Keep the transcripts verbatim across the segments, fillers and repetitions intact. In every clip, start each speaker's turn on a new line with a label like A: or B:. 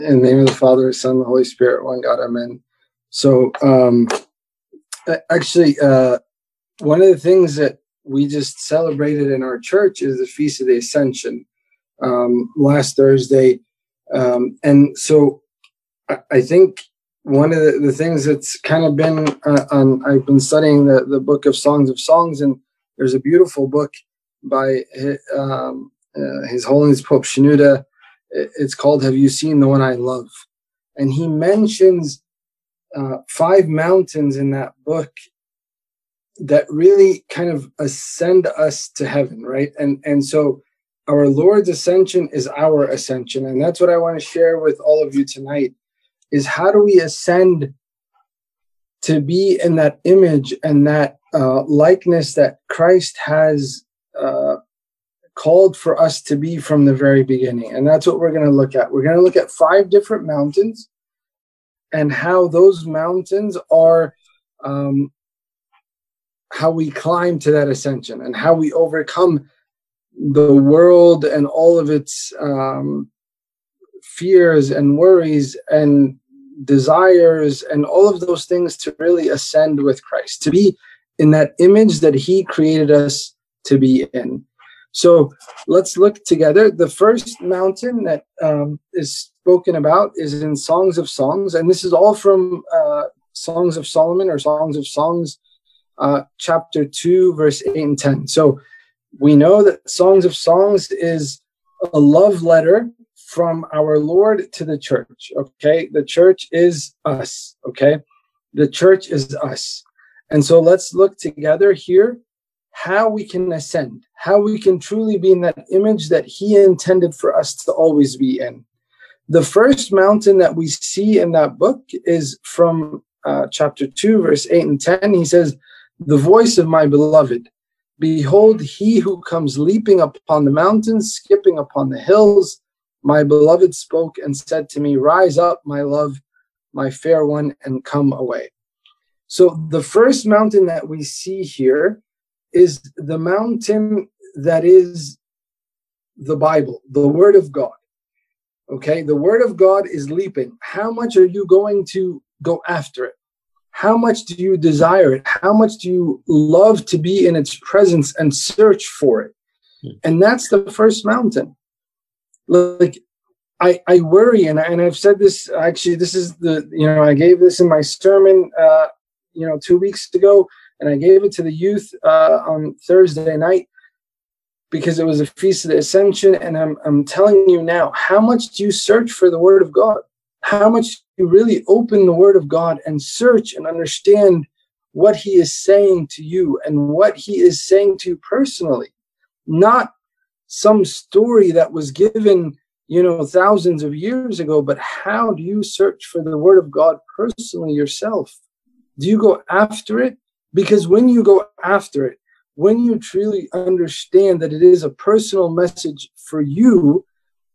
A: In the name of the Father, the Son, and the Holy Spirit, one God, amen. So, um, actually, uh, one of the things that we just celebrated in our church is the Feast of the Ascension um, last Thursday. Um, and so I, I think one of the, the things that's kind of been, uh, on, I've been studying the, the book of Songs of Songs, and there's a beautiful book by um, uh, His Holiness Pope Shenouda. It's called Have You Seen the One I Love? And he mentions uh, five mountains in that book that really kind of ascend us to heaven, right? And, and so our Lord's ascension is our ascension. And that's what I want to share with all of you tonight, is how do we ascend to be in that image and that uh, likeness that Christ has uh, called for us to be from the very beginning. And that's what we're going to look at. We're going to look at five different mountains and how those mountains are, um, how we climb to that ascension and how we overcome the world and all of its um, fears and worries and desires and all of those things to really ascend with Christ, to be in that image that he created us to be in. So let's look together. The first mountain that um, is spoken about is in Songs of Songs, and this is all from uh, Songs of Solomon or Songs of Songs, uh, chapter two, verse eight and ten. So we know that Songs of Songs is a love letter from our Lord to the church, okay? The church is us, okay? The church is us. And so let's look together here how we can ascend, how we can truly be in that image that he intended for us to always be in. The first mountain that we see in that book is from uh, chapter two, verse eight and ten. He says, "The voice of my beloved, behold, he who comes leaping upon the mountains, skipping upon the hills. My beloved spoke and said to me, rise up, my love, my fair one, and come away." So the first mountain that we see here is the mountain that is the Bible, the Word of God. Okay, the Word of God is leaping. How much are you going to go after it? How much do you desire it? How much do you love to be in its presence and search for it? Hmm. And that's the first mountain. Like, I, I worry, and, I, and I've said this, actually, this is the, you know, I gave this in my sermon, uh, you know, two weeks ago, and I gave it to the youth uh, on Thursday night because it was a Feast of the Ascension. And I'm, I'm telling you now, how much do you search for the Word of God? How much do you really open the Word of God and search and understand what he is saying to you and what he is saying to you personally? Not some story that was given, you know, thousands of years ago, but how do you search for the Word of God personally yourself? Do you go after it? Because when you go after it, when you truly understand that it is a personal message for you,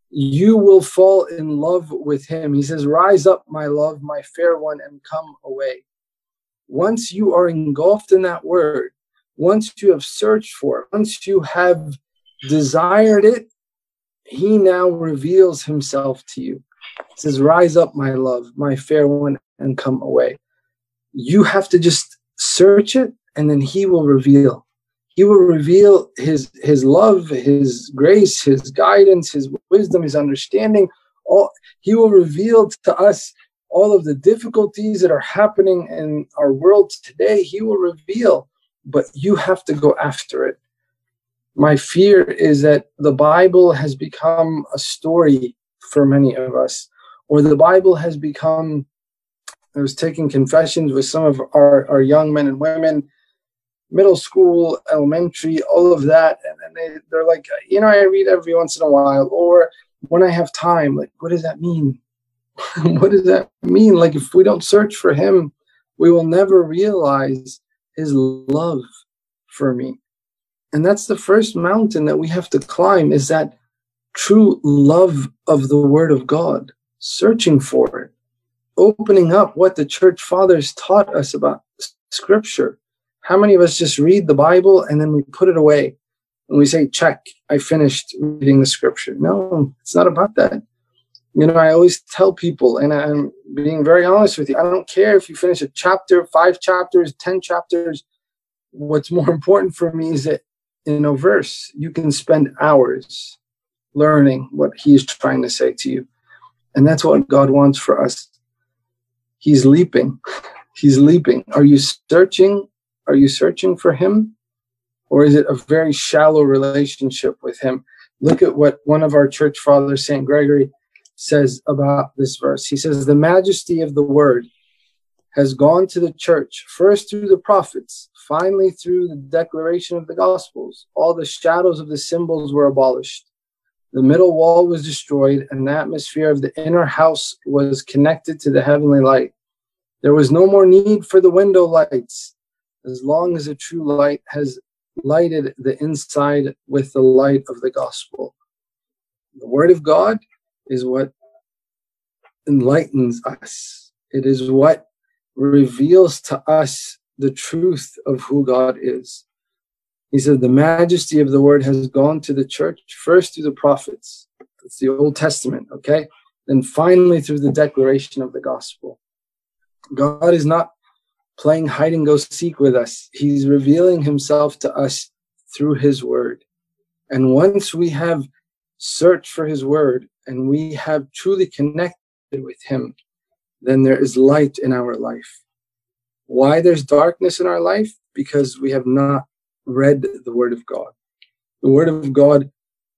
A: you will fall in love with him. He says, rise up, my love, my fair one, and come away. Once you are engulfed in that word, once you have searched for it, once you have desired it, he now reveals himself to you. He says, rise up, my love, my fair one, and come away. You have to just search it, and then he will reveal. He will reveal his, his love, his grace, his guidance, his wisdom, his understanding. All, he will reveal to us all of the difficulties that are happening in our world today. He will reveal, but you have to go after it. My fear is that the Bible has become a story for many of us, or the Bible has become, I was taking confessions with some of our, our young men and women, middle school, elementary, all of that. And then they, they're like, you know, I read every once in a while, or when I have time. Like, what does that mean? What does that mean? Like, if we don't search for him, we will never realize his love for me. And that's the first mountain that we have to climb, is that true love of the Word of God, searching for it, opening up what the church fathers taught us about Scripture. How many of us just read the Bible and then we put it away and we say, check, I finished reading the Scripture? No, it's not about that. You know, I always tell people, and I'm being very honest with you, I don't care if you finish a chapter, five chapters, ten chapters. What's more important for me is that in a verse, you can spend hours learning what he's trying to say to you. And that's what God wants for us. He's leaping. He's leaping. Are you searching? Are you searching for him? Or is it a very shallow relationship with him? Look at what one of our church fathers, Saint Gregory, says about this verse. He says, the majesty of the word has gone to the church, first through the prophets, finally through the declaration of the gospels. All the shadows of the symbols were abolished. The middle wall was destroyed, and the atmosphere of the inner house was connected to the heavenly light. There was no more need for the window lights, as long as a true light has lighted the inside with the light of the gospel. The word of God is what enlightens us. It is what reveals to us the truth of who God is. He said, the majesty of the word has gone to the church, first through the prophets. That's the Old Testament, okay? Then finally through the declaration of the gospel. God is not playing hide and go seek with us. He's revealing himself to us through his word. And once we have searched for his word and we have truly connected with him, then there is light in our life. Why there's darkness in our life? Because we have not read the word of God. The word of God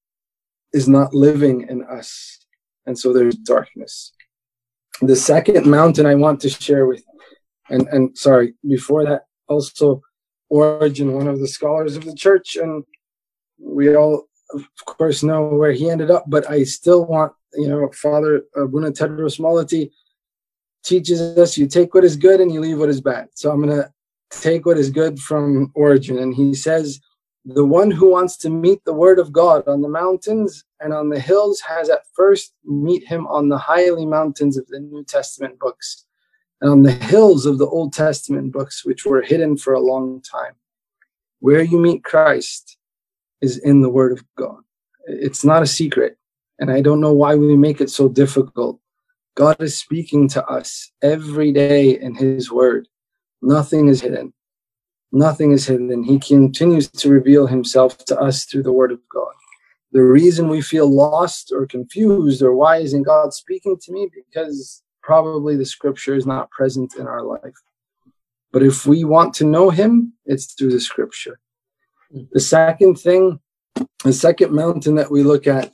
A: is not living in us. And so there's darkness. The second mountain I want to share with, and, and sorry, before that, also Origen, one of the scholars of the church, and we all, of course, know where he ended up, but I still want, you know, Father Abuna Tedros Malati teaches us you take what is good and you leave what is bad. So I'm going to take what is good from Origen. And he says, the one who wants to meet the word of God on the mountains and on the hills has at first meet him on the highly mountains of the New Testament books and on the hills of the Old Testament books, which were hidden for a long time. Where you meet Christ is in the word of God. It's not a secret. And I don't know why we make it so difficult. God is speaking to us every day in his word. Nothing is hidden. Nothing is hidden. He continues to reveal himself to us through the word of God. The reason we feel lost or confused or why isn't God speaking to me? Because probably the scripture is not present in our life. But if we want to know him, it's through the scripture. The second thing, the second mountain that we look at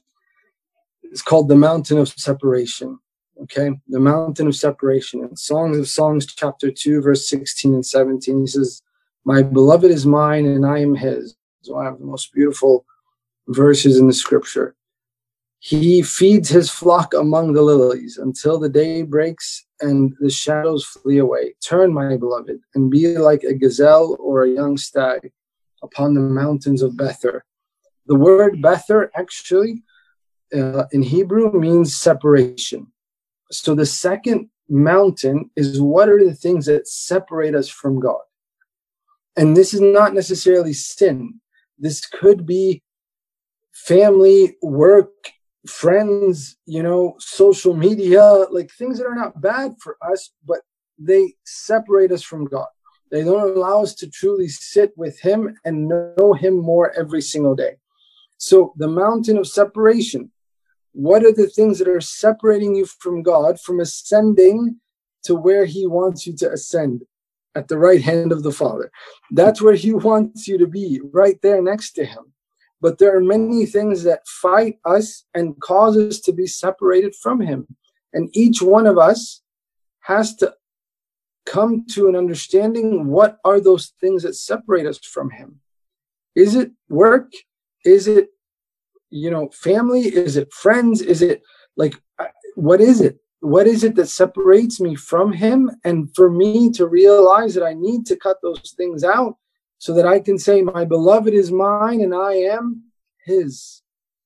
A: is called the mountain of separation. Okay, the mountain of separation. In Songs of Songs, chapter two, verse sixteen and seventeen, he says, my beloved is mine and I am his. It's one of the most beautiful verses in the scripture. He feeds his flock among the lilies until the day breaks and the shadows flee away. Turn, my beloved, and be like a gazelle or a young stag upon the mountains of Bether. The word Bether actually uh, in Hebrew means separation. So the second mountain is what are the things that separate us from God? And this is not necessarily sin. This could be family, work, friends, you know, social media, like things that are not bad for us, but they separate us from God. They don't allow us to truly sit with him and know him more every single day. So the mountain of separation. What are the things that are separating you from God, from ascending to where he wants you to ascend at the right hand of the Father? That's where he wants you to be, right there next to him. But there are many things that fight us and cause us to be separated from him. And each one of us has to come to an understanding, what are those things that separate us from him? Is it work? Is it you know, family? Is it friends? Is it like, what is it? What is it that separates me from him? And for me to realize that I need to cut those things out so that I can say, my beloved is mine and I am his.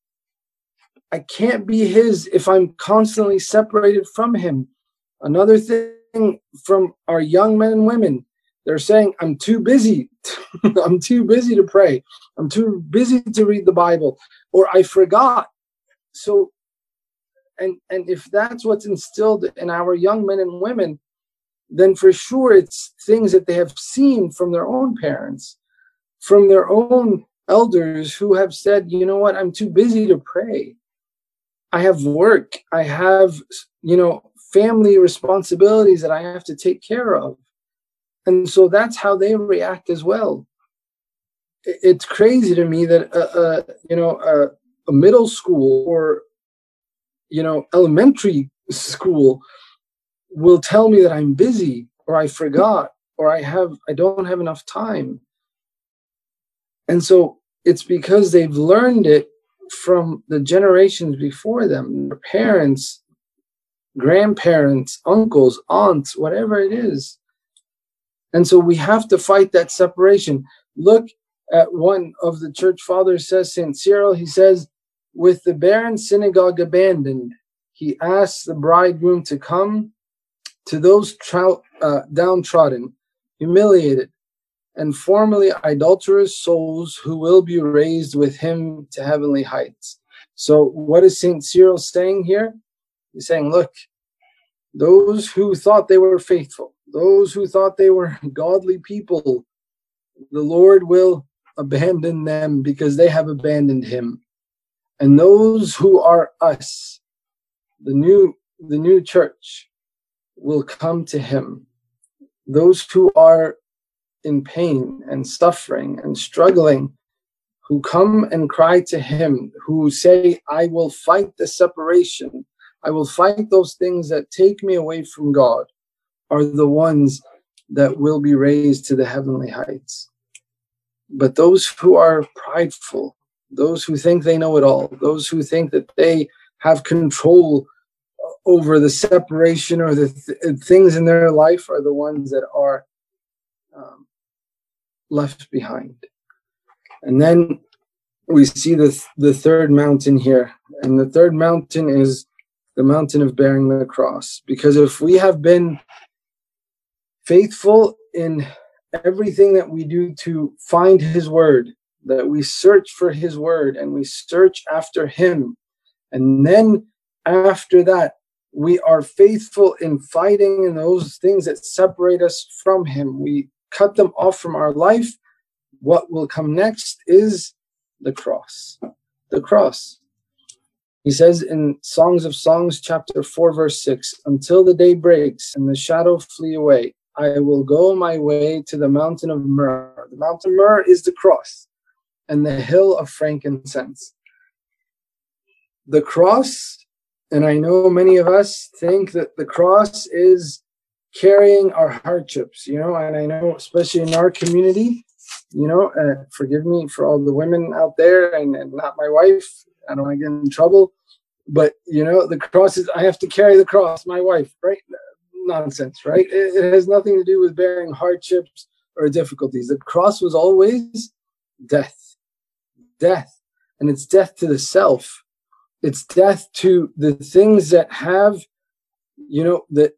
A: I can't be his if I'm constantly separated from him. Another thing from our young men and women, they're saying, I'm too busy. I'm too busy to pray. I'm too busy to read the Bible. Or I forgot. So And, and if that's what's instilled in our young men and women, then for sure it's things that they have seen from their own parents, from their own elders who have said, you know what, I'm too busy to pray. I have work. I have, you know, family responsibilities that I have to take care of. And so that's how they react as well. It's crazy to me that, uh, uh, you know, uh, a middle school or, you know, elementary school will tell me that I'm busy or I forgot or I have, I don't have enough time. And so it's because they've learned it from the generations before them, their parents, grandparents, uncles, aunts, whatever it is. And so we have to fight that separation. Look at one of the church fathers says, Saint Cyril, he says, with the barren synagogue abandoned, he asks the bridegroom to come to those trou- uh, downtrodden, humiliated, and formerly idolatrous souls who will be raised with him to heavenly heights. So what is Saint Cyril saying here? He's saying, look, those who thought they were faithful, those who thought they were godly people, the Lord will abandon them because they have abandoned him. And those who are us, the new, the new church, will come to him. Those who are in pain and suffering and struggling, who come and cry to him, who say, I will fight the separation, I will fight those things that take me away from God, are the ones that will be raised to the heavenly heights. But those who are prideful, those who think they know it all, those who think that they have control over the separation or the th- things in their life are the ones that are um, left behind. And then we see the, th- the third mountain here. And the third mountain is the mountain of bearing the cross. Because if we have been faithful in everything that we do to find his word, that we search for his word and we search after him, and then after that, we are faithful in fighting in those things that separate us from him. We cut them off from our life. What will come next is the cross. The cross. He says in Songs of Songs, chapter four, verse six, until the day breaks and the shadow flee away, I will go my way to the mountain of myrrh. The mountain of myrrh is the cross and the hill of frankincense. The cross, and I know many of us think that the cross is carrying our hardships, you know, and I know especially in our community, you know, uh, forgive me for all the women out there and, and not my wife. I don't want to get in trouble, but, you know, the cross is, I have to carry the cross, my wife, right? Nonsense, right? It, it has nothing to do with bearing hardships or difficulties. The cross was always death, death, and it's death to the self. It's death to the things that have, you know, that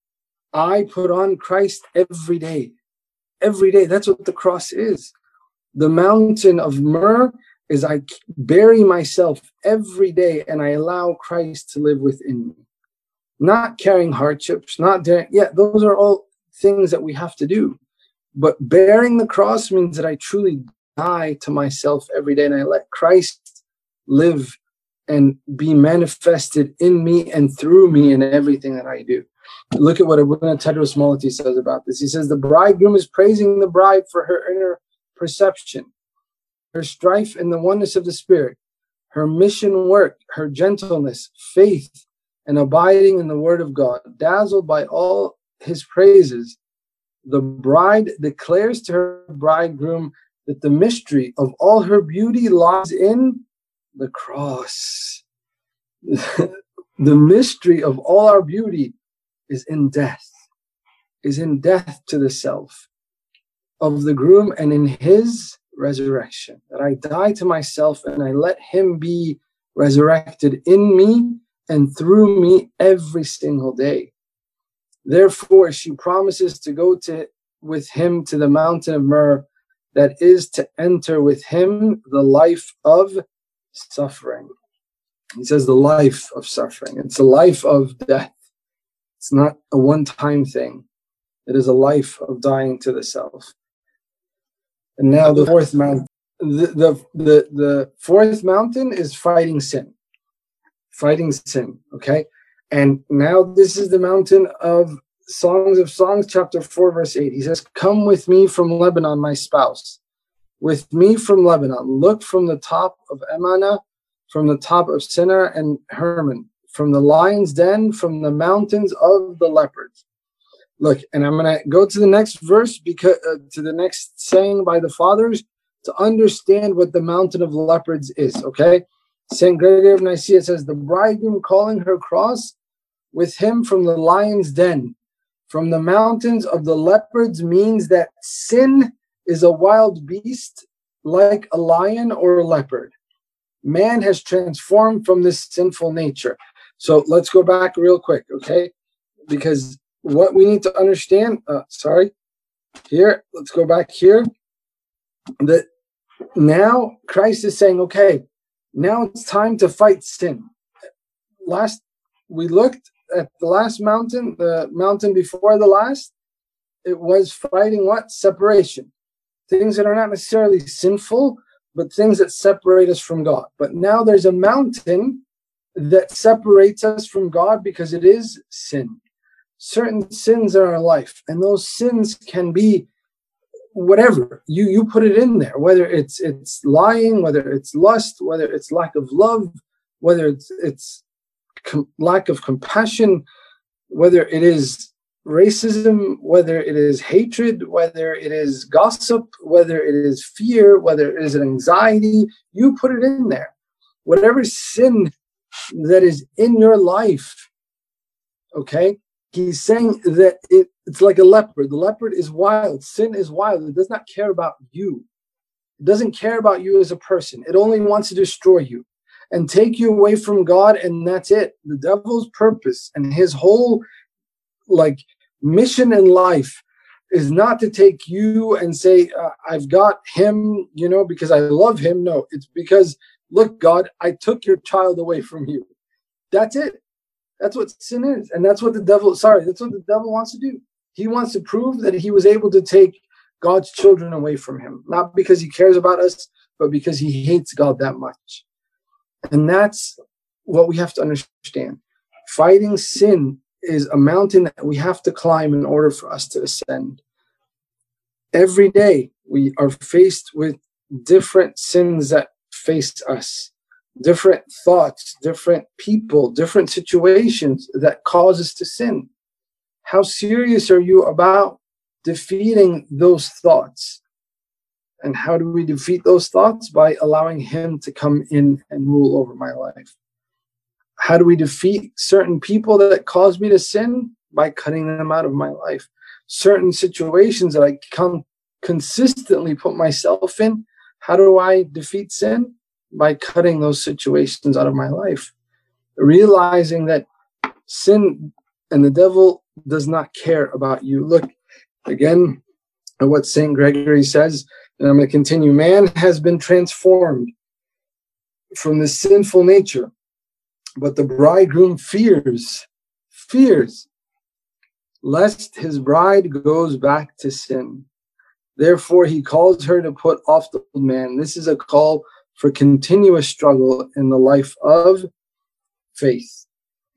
A: I put on Christ every day. Every day. That's what the cross is. The mountain of myrrh is I bury myself every day and I allow Christ to live within me. Not carrying hardships, not daring. Yeah, those are all things that we have to do. But bearing the cross means that I truly die to myself every day and I let Christ live and be manifested in me and through me in everything that I do. Look at what Abuna Tedros Malati says about this. He says, the bridegroom is praising the bride for her inner perception, her strife in the oneness of the Spirit, her mission work, her gentleness, faith, and abiding in the word of God. Dazzled by all his praises, the bride declares to her bridegroom that the mystery of all her beauty lies in the cross. The mystery of all our beauty is in death, is in death to the self of the groom and in his resurrection. That I die to myself and I let him be resurrected in me and through me every single day. Therefore, she promises to go to with him to the mountain of myrrh, that is to enter with him the life of suffering. He says the life of suffering. It's a life of death. It's not a one-time thing. It is a life of dying to the self. And now the fourth mountain, the, the, the, the fourth mountain is fighting sin. Fighting sin, okay? And now this is the mountain of Songs of Songs, chapter four, verse eight. He says, come with me from Lebanon, my spouse. With me from Lebanon. Look from the top of Emana, from the top of Sinnar and Hermon, from the lion's den, from the mountains of the leopards. Look, and I'm going to go to the next verse, because uh, to the next saying by the fathers, to understand what the mountain of leopards is, okay? Saint Gregory of Nicaea says, the bridegroom calling her cross with him from the lion's den, from the mountains of the leopards, means that sin is a wild beast like a lion or a leopard. Man has transformed from this sinful nature. So let's go back real quick, okay? Because what we need to understand, uh, sorry, here, let's go back here, that now Christ is saying, okay, now it's time to fight sin. Last, we looked at the last mountain, the mountain before the last, it was fighting what? Separation. Things that are not necessarily sinful, but things that separate us from God. But now there's a mountain that separates us from God because it is sin. Certain sins in our life, and those sins can be whatever you you put it in there, whether it's it's lying, whether it's lust, whether it's lack of love, whether it's it's com- lack of compassion, whether it is racism, whether it is hatred, whether it is gossip, whether it is fear, whether it is anxiety. You put it in there. Whatever sin that is in your life, okay? He's saying that it, it's like a leopard. The leopard is wild. Sin is wild. It does not care about you. It doesn't care about you as a person. It only wants to destroy you and take you away from God, and that's it. The devil's purpose and his whole like mission in life is not to take you and say, uh, I've got him, you know, because I love him. No, it's because, look, God, I took your child away from you. That's it. That's what sin is. And that's what the devil, sorry, that's what the devil wants to do. He wants to prove that he was able to take God's children away from him, not because he cares about us, but because he hates God that much. And that's what we have to understand. Fighting sin is a mountain that we have to climb in order for us to ascend. Every day we are faced with different sins that face us. Different thoughts, different people, different situations that cause us to sin. How serious are you about defeating those thoughts? And how do we defeat those thoughts? By allowing him to come in and rule over my life. How do we defeat certain people that cause me to sin? By cutting them out of my life. Certain situations that I can consistently put myself in, how do I defeat sin? By cutting those situations out of my life. Realizing that sin and the devil does not care about you. Look again at what Saint Gregory says, and I'm going to continue. Man has been transformed from the sinful nature, but the bridegroom fears, fears, lest his bride goes back to sin. Therefore, he calls her to put off the old man. This is a call for continuous struggle in the life of faith.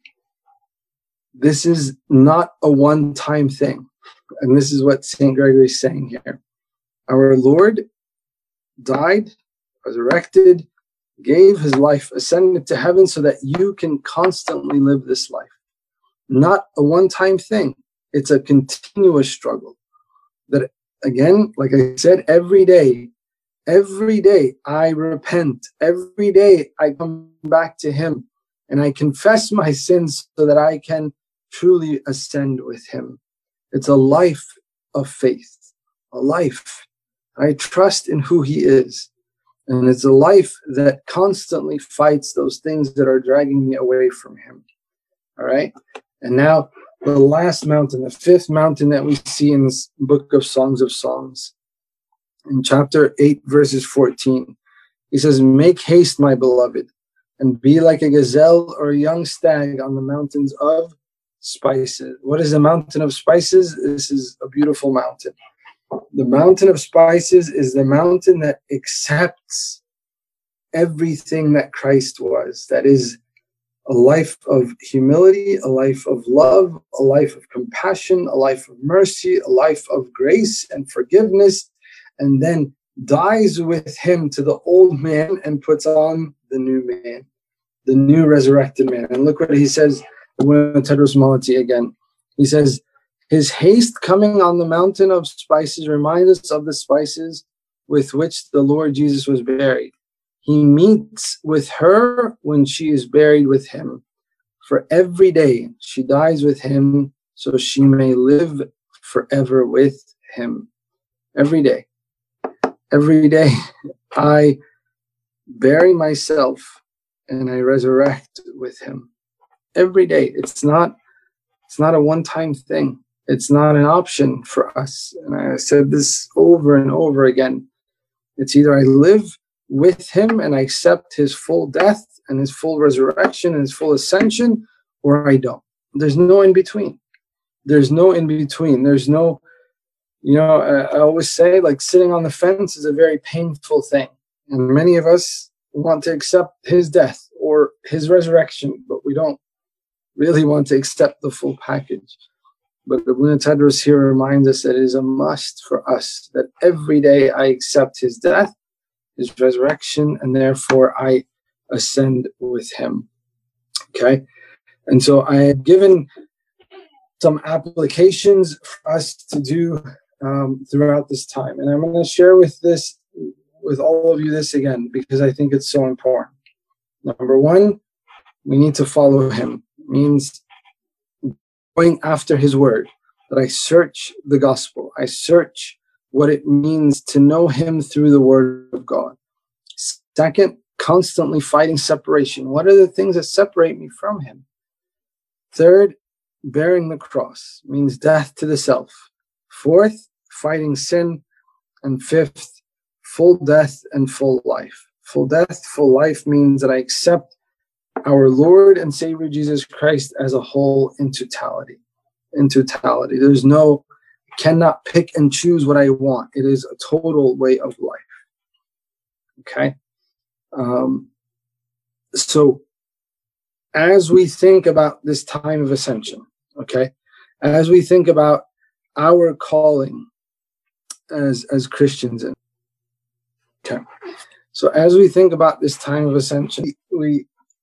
A: This is not a one-time thing. And this is what Saint Gregory is saying here. Our Lord died, resurrected, gave his life, ascended to heaven so that you can constantly live this life. Not a one-time thing. It's a continuous struggle. That, again, like I said, every day, Every day I repent. Every day I come back to him and I confess my sins so that I can truly ascend with him. It's a life of faith, a life. I trust in who he is. And it's a life that constantly fights those things that are dragging me away from him. All right. And now the last mountain, the fifth mountain that we see in this book of Songs of Songs. In chapter eight, verses fourteen, he says, make haste, my beloved, and be like a gazelle or a young stag on the mountains of spices. What is the mountain of spices? This is a beautiful mountain. The mountain of spices is the mountain that accepts everything that Christ was. That is a life of humility, a life of love, a life of compassion, a life of mercy, a life of grace and forgiveness, and then dies with him to the old man and puts on the new man, the new resurrected man. And look what he says, Tedros Malati again. He says, his haste coming on the mountain of spices reminds us of the spices with which the Lord Jesus was buried. He meets with her when she is buried with him. For every day she dies with him, so she may live forever with him. Every day. Every day I bury myself and I resurrect with him. Every day. It's not, it's not a one-time thing. It's not an option for us. And I said this over and over again. It's either I live with him and I accept his full death and his full resurrection and his full ascension, or I don't. There's no in between. There's no in between. There's no, you know, I, I always say, like, sitting on the fence is a very painful thing. And many of us want to accept his death or his resurrection, but we don't really want to accept the full package. But the Abuna Tedros here reminds us that it is a must for us that every day I accept his death, his resurrection, and therefore I ascend with him. Okay? And so I have given some applications for us to do um, throughout this time. And I'm going to share with this, with all of you this again, because I think it's so important. Number one, we need to follow him. It means going after his word, that I search the gospel. I search what it means to know him through the word of God. Second, constantly fighting separation. What are the things that separate me from him? Third, bearing the cross means death to the self. Fourth, fighting sin. And fifth, full death and full life. Full death, full life means that I accept our Lord and Savior Jesus Christ as a whole in totality. In totality. There's no, cannot pick and choose what I want. It is a total way of life. Okay? Um, so, as we think about this time of ascension, okay, as we think about our calling as, as Christians, in, okay, so as we think about this time of ascension, we,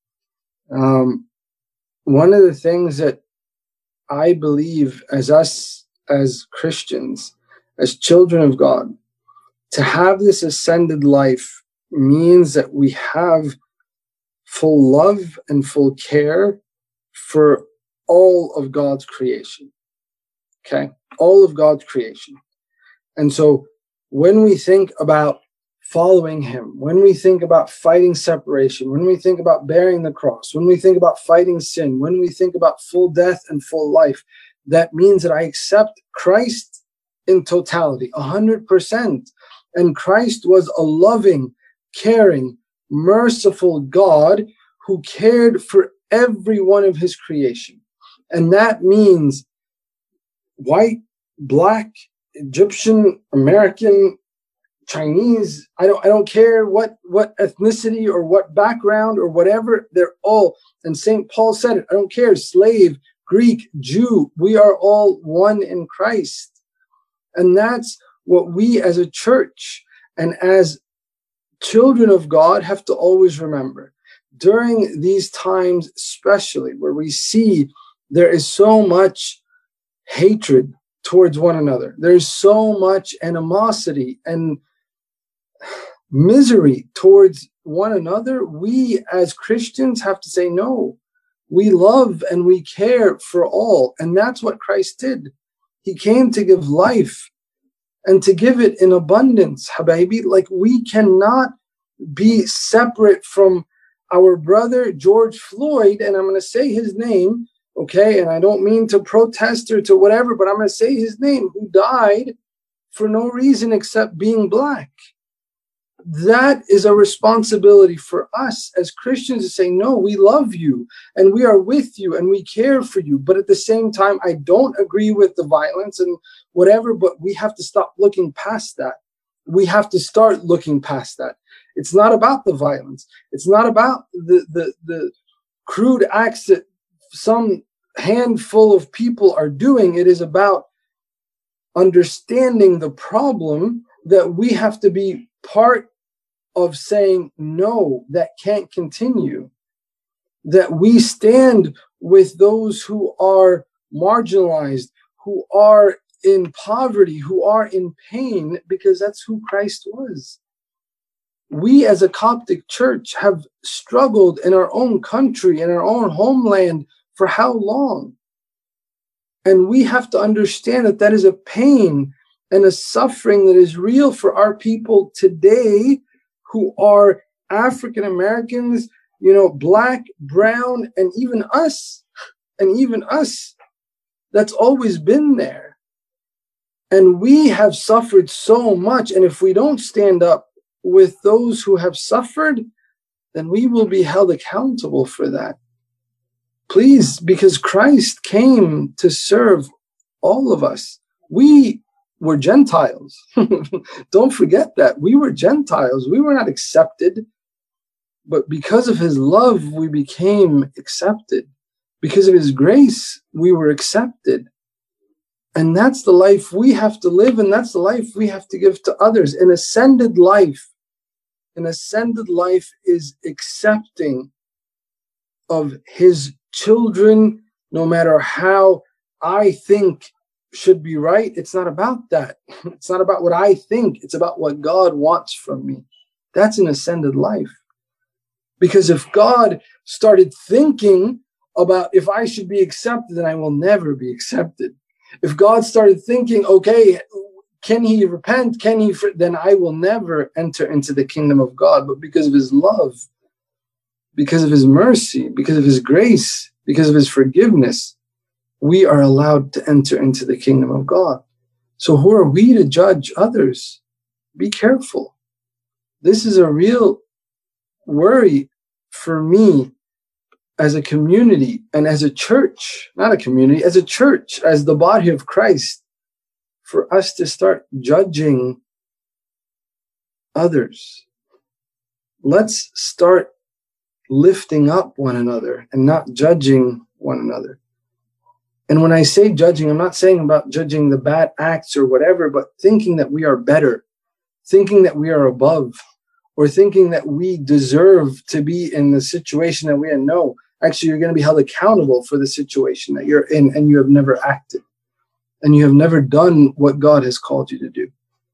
A: um, one of the things that I believe as us, as Christians, as children of God, to have this ascended life means that we have full love and full care for all of God's creation. Okay? All of God's creation. And so when we think about following him, when we think about fighting separation, when we think about bearing the cross, when we think about fighting sin, when we think about full death and full life, that means that I accept Christ in totality, one hundred percent. And Christ was a loving, caring, merciful God who cared for every one of his creation. And that means white, black, Egyptian, American, Chinese, I don't I don't care what, what ethnicity or what background or whatever, they're all, and Saint Paul said it, I don't care, slave, Greek, Jew, we are all one in Christ. And that's what we as a church and as children of God have to always remember. During these times, especially where we see there is so much hatred towards one another, there's so much animosity and misery towards one another, we as Christians have to say, no, we love and we care for all. And that's what Christ did. He came to give life and to give it in abundance, Habibi. Like, we cannot be separate from our brother George Floyd, and I'm going to say his name, okay, and I don't mean to protest or to whatever, but I'm going to say his name, who died for no reason except being black. that is a responsibility for us as Christians to say, no, we love you and we are with you and we care for you. But at the same time, I don't agree with the violence and whatever, but we have to stop looking past that. We have to start looking past that. It's not about the violence. It's not about the, the, the crude acts that some handful of people are doing. It is about understanding the problem, that we have to be part of saying, no, that can't continue. That we stand with those who are marginalized, who are in poverty, who are in pain, because that's who Christ was. We as a Coptic church have struggled in our own country, in our own homeland for how long? And we have to understand that that is a pain and a suffering that is real for our people today, who are African Americans, you know, black, brown, and even us, and even us. That's always been there. And we have suffered so much. And if we don't stand up with those who have suffered, then we will be held accountable for that. Please, because Christ came to serve all of us. We were Gentiles. Don't forget that. We were Gentiles. We were not accepted. But because of his love, we became accepted. Because of his grace, we were accepted. And that's the life we have to live, and that's the life we have to give to others. An ascended life, an ascended life is accepting of his children, no matter how I think should be right. It's not about that. It's not about what I think. It's about what God wants from me. That's an ascended life. Because if God started thinking about if I should be accepted, then I will never be accepted. If God started thinking, okay, can he repent? Can he? Then I will never enter into the kingdom of God. But because of his love, because of his mercy, because of his grace, because of his forgiveness, we are allowed to enter into the kingdom of God. So who are we to judge others? Be careful. This is a real worry for me as a community and as a church, not a community, as a church, as the body of Christ, for us to start judging others. Let's start lifting up one another and not judging one another. And when I say judging, I'm not saying about judging the bad acts or whatever, but thinking that we are better, thinking that we are above, or thinking that we deserve to be in the situation that we're in. No, actually, you're going to be held accountable for the situation that you're in, and you have never acted, and you have never done what God has called you to do.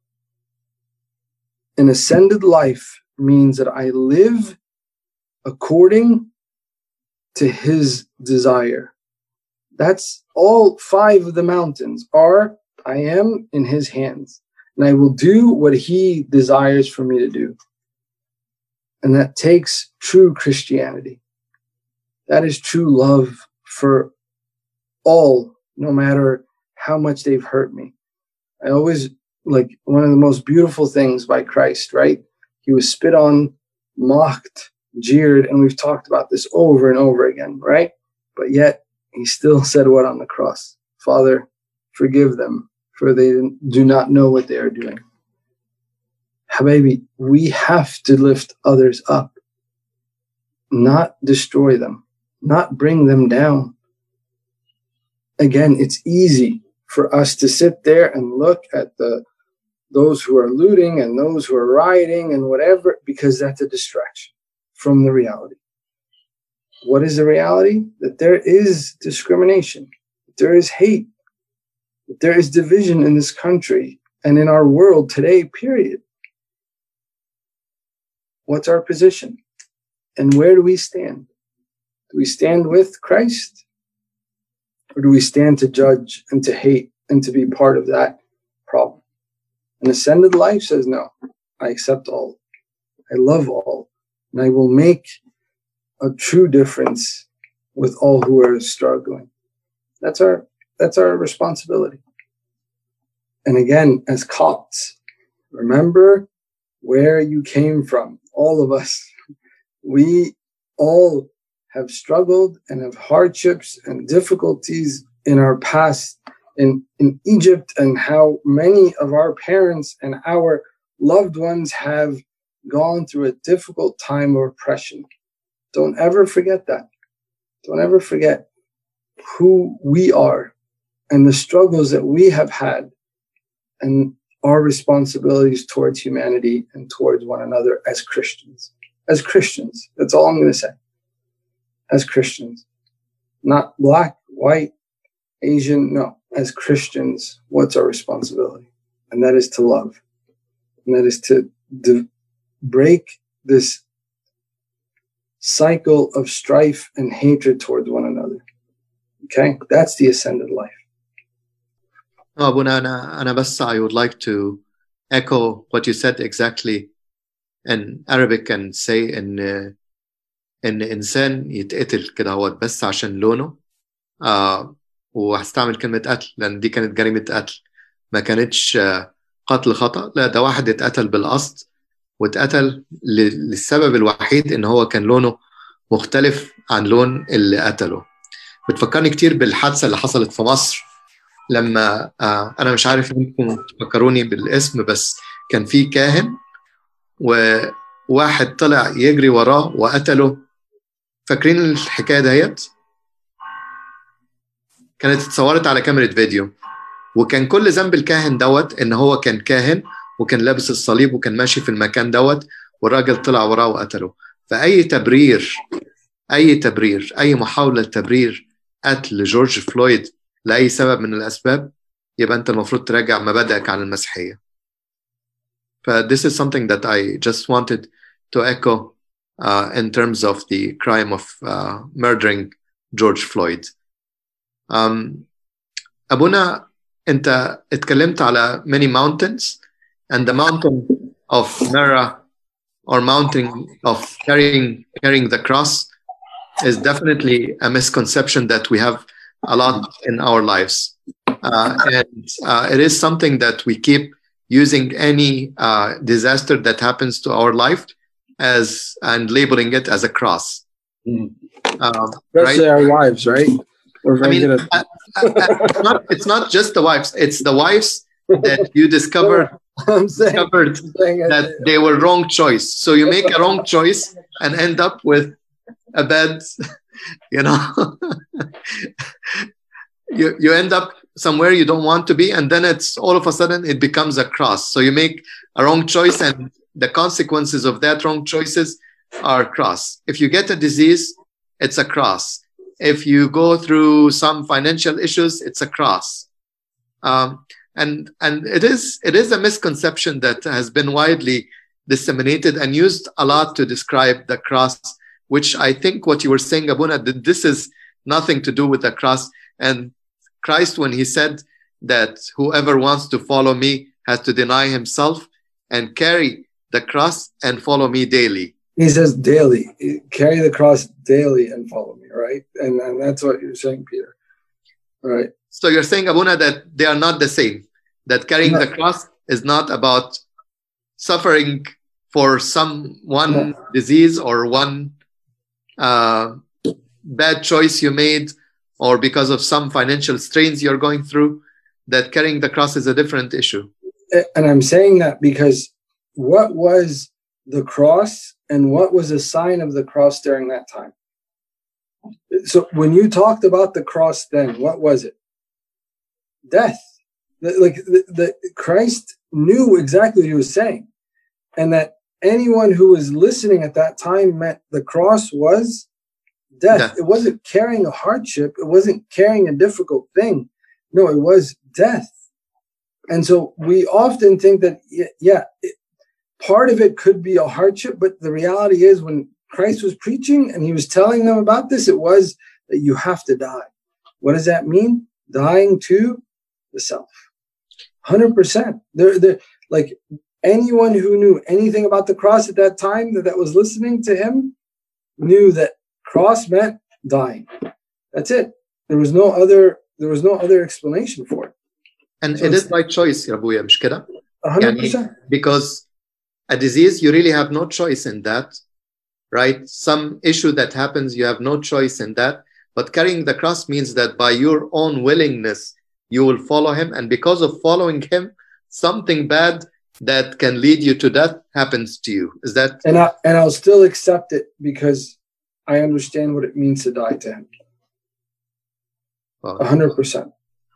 A: An ascended life means that I live according to his desire. That's all five of the mountains are, I am in his hands, and I will do what he desires for me to do. And that takes true Christianity. That is true love for all, no matter how much they've hurt me. I always, like, one of the most beautiful things by Christ, right? He was spit on, mocked, jeered, and we've talked about this over and over again, right? But yet, he still said what on the cross? Father, forgive them, for they do not know what they are doing. Habibi, we have to lift others up, not destroy them, not bring them down. Again, it's easy for us to sit there and look at the those who are looting and those who are rioting and whatever, because that's a distraction from the reality. What is the reality? That there is discrimination, that there is hate, that there is division in this country and in our world today, period. What's our position? And where do we stand? Do we stand with Christ? Or do we stand to judge and to hate and to be part of that problem? An ascended life says, no, I accept all. I love all. And I will make a true difference with all who are struggling. That's our, that's our responsibility. And again, as Copts, remember where you came from, all of us. We all have struggled and have hardships and difficulties in our past in, in Egypt, and how many of our parents and our loved ones have gone through a difficult time of oppression. Don't ever forget that. Don't ever forget who we are and the struggles that we have had and our responsibilities towards humanity and towards one another as Christians. As Christians, that's all I'm going to say. As Christians, not black, white, Asian, no. As Christians, what's our responsibility? And that is to love. And that is to, to break this cycle of strife and hatred towards one another. Okay? That's the ascended life.
B: Oh, Abuna, أنا أنا بس I would like to echo what you said exactly in Arabic and say إن إن إنسان يتقتل كده هو بس عشان لونه. آه وهستعمل كلمة قتل لأن دي كانت جريمة قتل، ما كانتش آه قتل خطأ. لا، ده واحد اتقتل بالقصد، واتقتل للسبب الوحيد إن هو كان لونه مختلف عن لون اللي قتله. بتفكرني كتير بالحادثة اللي حصلت في مصر لما آه أنا مش عارف إنكم تفكروني بالاسم، بس كان في كاهن وواحد طلع يجري وراه وقتله. فاكرين الحكاية ديت؟ كانت اتصورت على كاميرا فيديو، وكان كل ذنب الكاهن دوت إن هو كان كاهن وكان لابس الصليب وكان ماشي في المكان دوت، والراجل طلع وراه وقتله. فأي تبرير أي تبرير أي محاولة تبرير قتل جورج فلويد لأي سبب من الأسباب، يبقى أنت المفروض تراجع مبادئك عن المسيحية. ف this is something that I just wanted to echo uh, in terms of the crime of uh, murdering George Floyd. Um, أبونا، أنت اتكلمت على many mountains, and the mountain of Mara, or mountain of carrying carrying the cross, is definitely a misconception that we have a lot in our lives. Uh, and uh, it is something that we keep using any uh, disaster that happens to our life as and labeling it as a cross.
A: Mm.
B: Um,
A: Especially
B: right?
A: our wives, right? We're very
B: I mean,
A: good at
B: uh, uh, it's, not, it's not just the wives, it's the wives that you discovered,
A: I'm saying,
B: discovered
A: I'm saying
B: that
A: it.
B: they were wrong choice. So you make a wrong choice and end up with a bad, you know, you, you end up somewhere you don't want to be, and then it's all of a sudden it becomes a cross. So you make a wrong choice, and the consequences of that wrong choices are cross. If you get a disease, it's a cross. If you go through some financial issues, it's a cross. Um, and and it is it is a misconception that has been widely disseminated and used a lot to describe the cross, which I think what you were saying, Abuna, that this is nothing to do with the cross. And Christ, when he said that whoever wants to follow me has to deny himself and carry the cross and follow me daily.
A: He says daily, carry the cross daily and follow me, right? And, and that's what you're saying, Peter. All right.
B: So you're saying, Abuna, that they are not the same, that carrying no. the cross is not about suffering for some one no. disease or one uh, bad choice you made, or because of some financial strains you're going through, that carrying the cross is a different issue.
A: And I'm saying that because what was the cross and what was a sign of the cross during that time? So when you talked about the cross then, what was it? Death. Like the, the Christ knew exactly what he was saying. And that anyone who was listening at that time meant the cross was death. death. It wasn't carrying a hardship. It wasn't carrying a difficult thing. No, it was death. And so we often think that, yeah, it, part of it could be a hardship, but the reality is when Christ was preaching and he was telling them about this, it was that you have to die. What does that mean? Dying to the self. one hundred percent. They're, they're, like anyone who knew anything about the cross at that time that, that was listening to him knew that cross meant dying. That's it. There was no other, there was no other explanation for it.
B: And so it is by choice, Rabuya, مش كده?
A: one hundred percent.
B: يعني because a disease, you really have no choice in that, right? Some issue that happens, you have no choice in that. But carrying the cross means that by your own willingness, you will follow him. And because of following him, something bad that can lead you to death happens to you. Is that?
A: And, I, and I'll still accept it because I understand what it means to die to him. A hundred percent.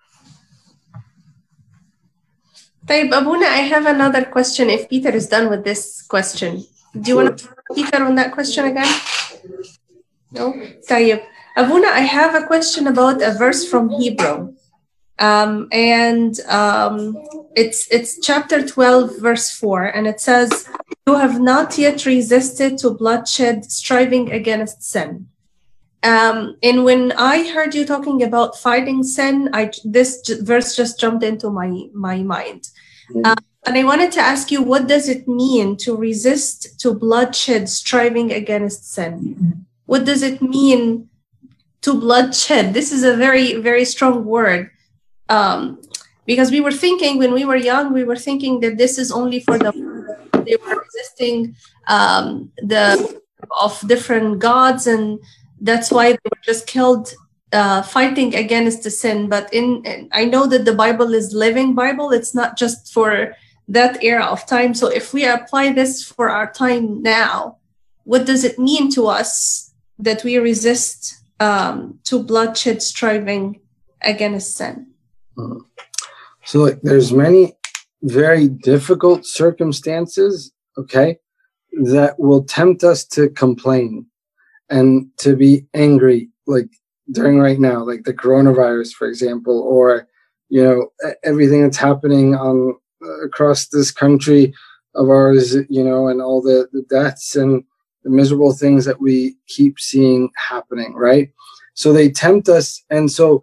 C: طيب Abuna, I have another question. If Peter is done with this question, do you sure. want to Peter on that question again? No? طيب Abuna, I have a question about a verse from Hebrew. Um, and um, it's it's chapter twelve, verse four, and it says, "You have not yet resisted to bloodshed, striving against sin." Um, and when I heard you talking about fighting sin, I this j- verse just jumped into my my mind, mm-hmm. um, and I wanted to ask you, what does it mean to resist to bloodshed, striving against sin? Mm-hmm. What does it mean to bloodshed? This is a very very strong word. Um, because we were thinking when we were young, we were thinking that this is only for the they were resisting um, the of different gods, and that's why they were just killed, uh, fighting against the sin. But in, in I know that the Bible is living Bible; it's not just for that era of time. So if we apply this for our time now, what does it mean to us that we resist um, to bloodshed, striving against sin?
A: So like, there's many very difficult circumstances, okay, that will tempt us to complain and to be angry, like during right now, like the coronavirus, for example, or, you know, everything that's happening on uh, across this country of ours, you know, and all the, the deaths and the miserable things that we keep seeing happening, right? So they tempt us. And so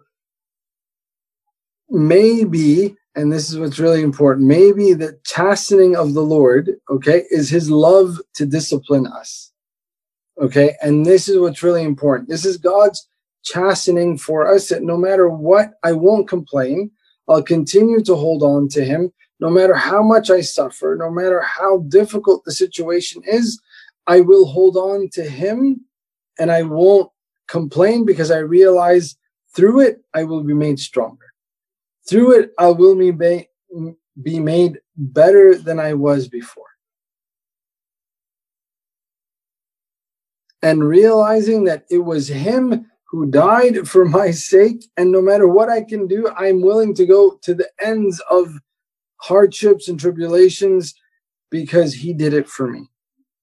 A: maybe, and this is what's really important, maybe the chastening of the Lord, okay, is his love to discipline us, okay? And this is what's really important. This is God's chastening for us, that no matter what, I won't complain. I'll continue to hold on to him. No matter how much I suffer, no matter how difficult the situation is, I will hold on to him, and I won't complain, because I realize through it, I will be made stronger. Through it, I will be, be made better than I was before. And realizing that it was him who died for my sake, and no matter what I can do, I'm willing to go to the ends of hardships and tribulations because he did it for me.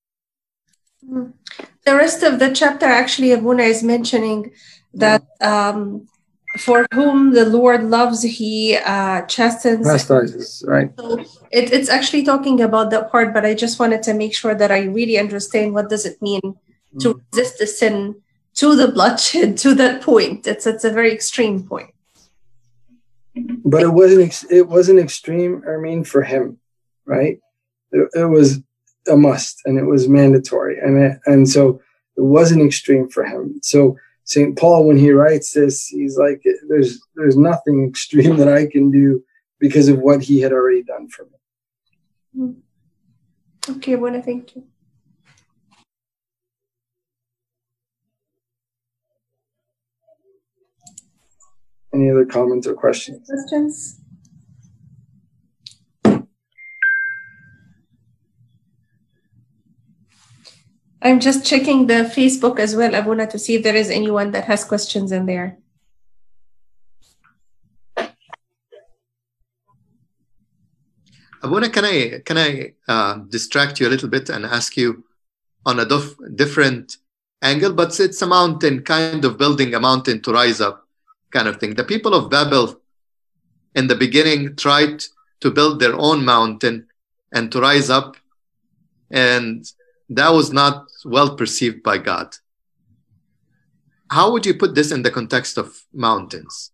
C: The rest of the chapter, actually, Abuna is mentioning that um, for whom the Lord loves, he uh, chastens.
A: Chastises, right.
C: So it, it's actually talking about that part, but I just wanted to make sure that I really understand what does it mean mm. to resist the sin to the bloodshed, to that point. It's, it's a very extreme point.
A: But it wasn't it wasn't extreme, I mean, for him, right? It, it was a must, and it was mandatory. And, it, and so it wasn't extreme for him. So Saint Paul, when he writes this, he's like, there's there's nothing extreme that I can do because of what he had already done for me.
C: Okay, well, thank you.
A: Any other comments or questions?
C: Questions? I'm just checking the Facebook as well, Abuna, to see if there is anyone that has questions in there.
B: Abuna, can I can I uh, distract you a little bit and ask you on a dif- different angle? But it's a mountain, kind of building a mountain to rise up, kind of thing. The people of Babel in the beginning tried to build their own mountain and to rise up, and that was not well perceived by God. How would you put this in the context of mountains?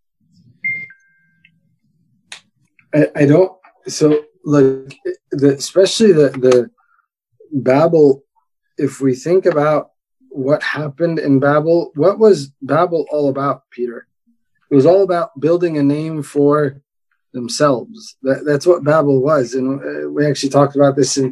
A: I, I don't, so like, the, especially the, the Babel, if we think about what happened in Babel, what was Babel all about, Peter? It was all about building a name for themselves. That, that's what Babel was. And we actually talked about this in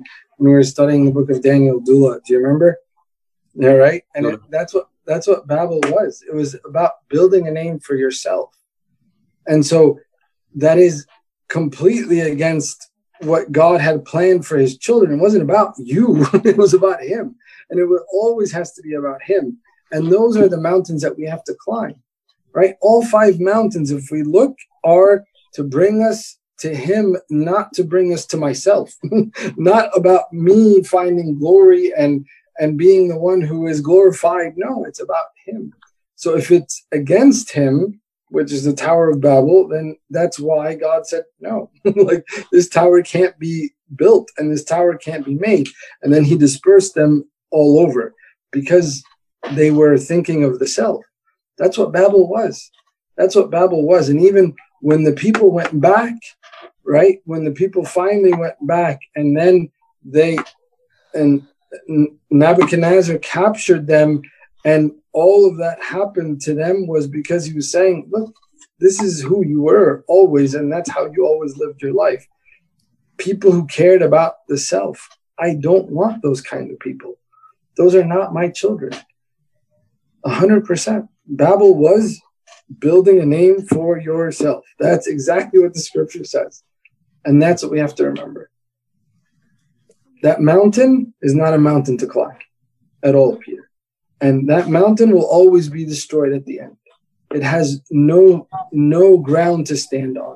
A: when we were studying the book of Daniel, Dula. Do you remember? Yeah, right. And it, that's what that's what Babel was. It was about building a name for yourself. And so that is completely against what God had planned for his children. It wasn't about you. It was about him. And it would always has to be about him. And those are the mountains that we have to climb, right? All five mountains, if we look, are to bring us to him, not to bring us to myself, not about me finding glory and, and being the one who is glorified. No, it's about him. So if it's against him, which is the Tower of Babel, then that's why God said, no, like this tower can't be built and this tower can't be made. And then he dispersed them all over because they were thinking of the self. That's what Babel was. That's what Babel was. And even when the people went back, right, when the people finally went back and then they, and Nebuchadnezzar captured them, and all of that happened to them was because he was saying, look, this is who you were always, and that's how you always lived your life. People who cared about the self. I don't want those kind of people. Those are not my children. A hundred percent. Babel was building a name for yourself. That's exactly what the scripture says. And that's what we have to remember. That mountain is not a mountain to climb at all, Peter. And that mountain will always be destroyed at the end. It has no, no ground to stand on.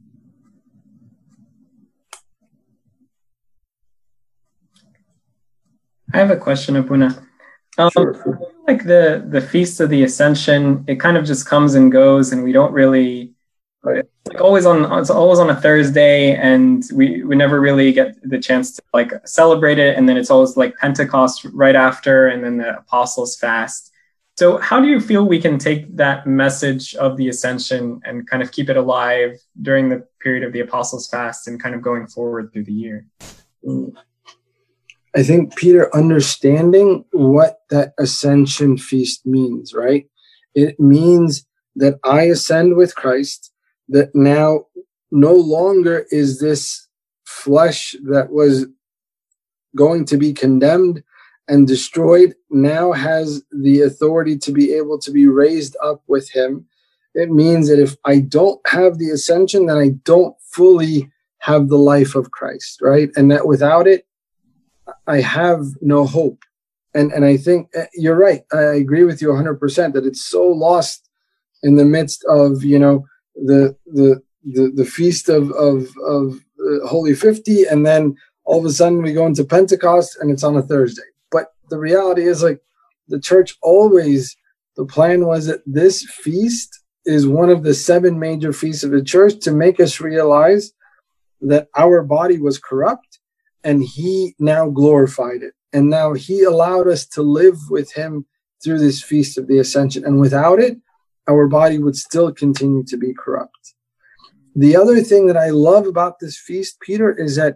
D: I have a question, Abuna. Um,
A: Sure.
D: Like the, the Feast of the Ascension, it kind of just comes and goes, and we don't really,
A: Right.
D: like always on, it's always on a Thursday, and we, we never really get the chance to like celebrate it. And then it's always like Pentecost right after, and then the Apostles' Fast. So how do you feel we can take that message of the Ascension and kind of keep it alive during the period of the Apostles' Fast and kind of going forward through the year?
A: Mm. I think, Peter, understanding what that ascension feast means, right? It means that I ascend with Christ, that now no longer is this flesh that was going to be condemned and destroyed, now has the authority to be able to be raised up with him. It means that if I don't have the ascension, then I don't fully have the life of Christ, right? And that without it, I have no hope. And and I think you're right. I agree with you one hundred percent that it's so lost in the midst of, you know, the the the, the feast of, of, of uh, Holy fifty, and then all of a sudden we go into Pentecost and it's on a Thursday. But the reality is, like, the church always, the plan was that this feast is one of the seven major feasts of the church to make us realize that our body was corrupt, and he now glorified it. And now he allowed us to live with him through this feast of the Ascension. And without it, our body would still continue to be corrupt. The other thing that I love about this feast, Peter, is that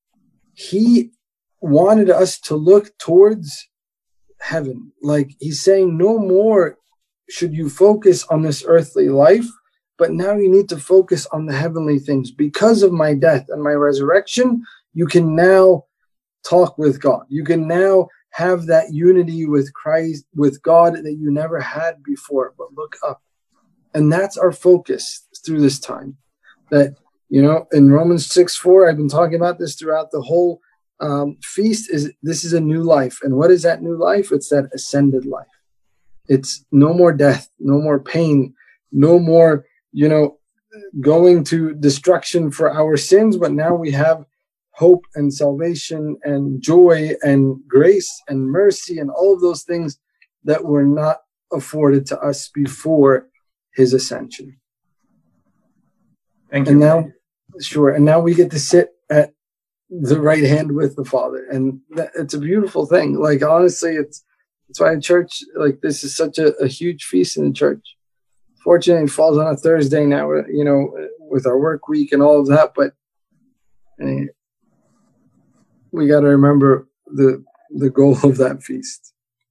A: he wanted us to look towards heaven. Like he's saying, no more should you focus on this earthly life, but now you need to focus on the heavenly things. Because of my death and my resurrection, you can now talk with God. You can now have that unity with Christ, with God, that you never had before, but look up. And that's our focus through this time. That, you know, in Romans six four, I've been talking about this throughout the whole um, feast, is this is a new life. And what is that new life? It's that ascended life. It's no more death, no more pain, no more, you know, going to destruction for our sins, but now we have hope and salvation and joy and grace and mercy and all of those things that were not afforded to us before his ascension.
D: Thank you.
A: And now, sure, and now we get to sit at the right hand with the Father, and that, it's a beautiful thing. Like, honestly, it's it's why a church like this is such a, a huge feast in the church. Fortunately, it falls on a Thursday now, you know, with our work week and all of that, but uh, we got to remember the the goal of that feast.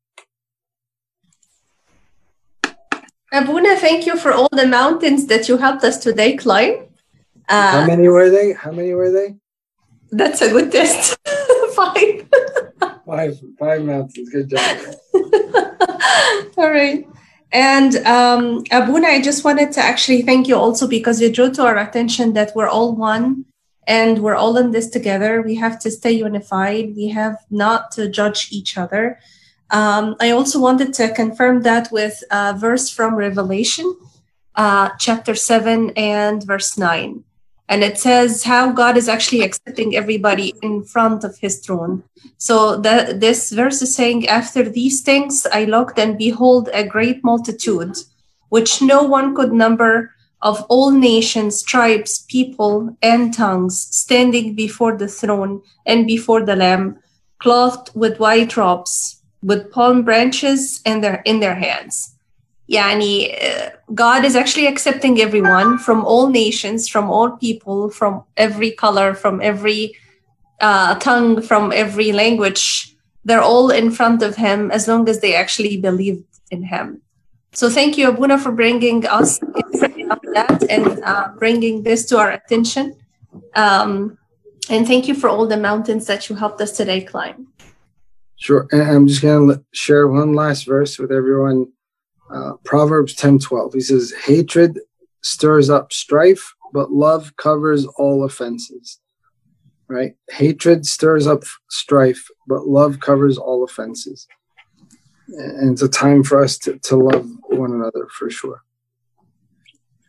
C: Abuna, thank you for all the mountains that you helped us today climb. Uh,
A: How many were they? How many were they?
C: That's a good test. five.
A: Five, five mountains. Good job.
C: All right. And um, Abuna, I just wanted to actually thank you also because you drew to our attention that we're all one and we're all in this together. We have to stay unified. We have not to judge each other. Um, I also wanted to confirm that with a verse from Revelation, uh, chapter seven and verse nine. And it says how God is actually accepting everybody in front of his throne. So the, this verse is saying, after these things, I looked and behold a great multitude, which no one could number, of all nations, tribes, people, and tongues, standing before the throne and before the Lamb, clothed with white robes, with palm branches in their, in their hands. Yani, uh, God is actually accepting everyone from all nations, from all people, from every color, from every uh, tongue, from every language. They're all in front of him as long as they actually believed in him. So thank you, Abuna, for bringing us up that and uh, bringing this to our attention. Um, and thank you for all the mountains that you helped us today climb.
A: Sure. And I'm just going to share one last verse with everyone. Uh, Proverbs ten twelve. He says, hatred stirs up strife, but love covers all offenses. Right? Hatred stirs up strife, but love covers all offenses. And it's a time for us to, to love one another for sure.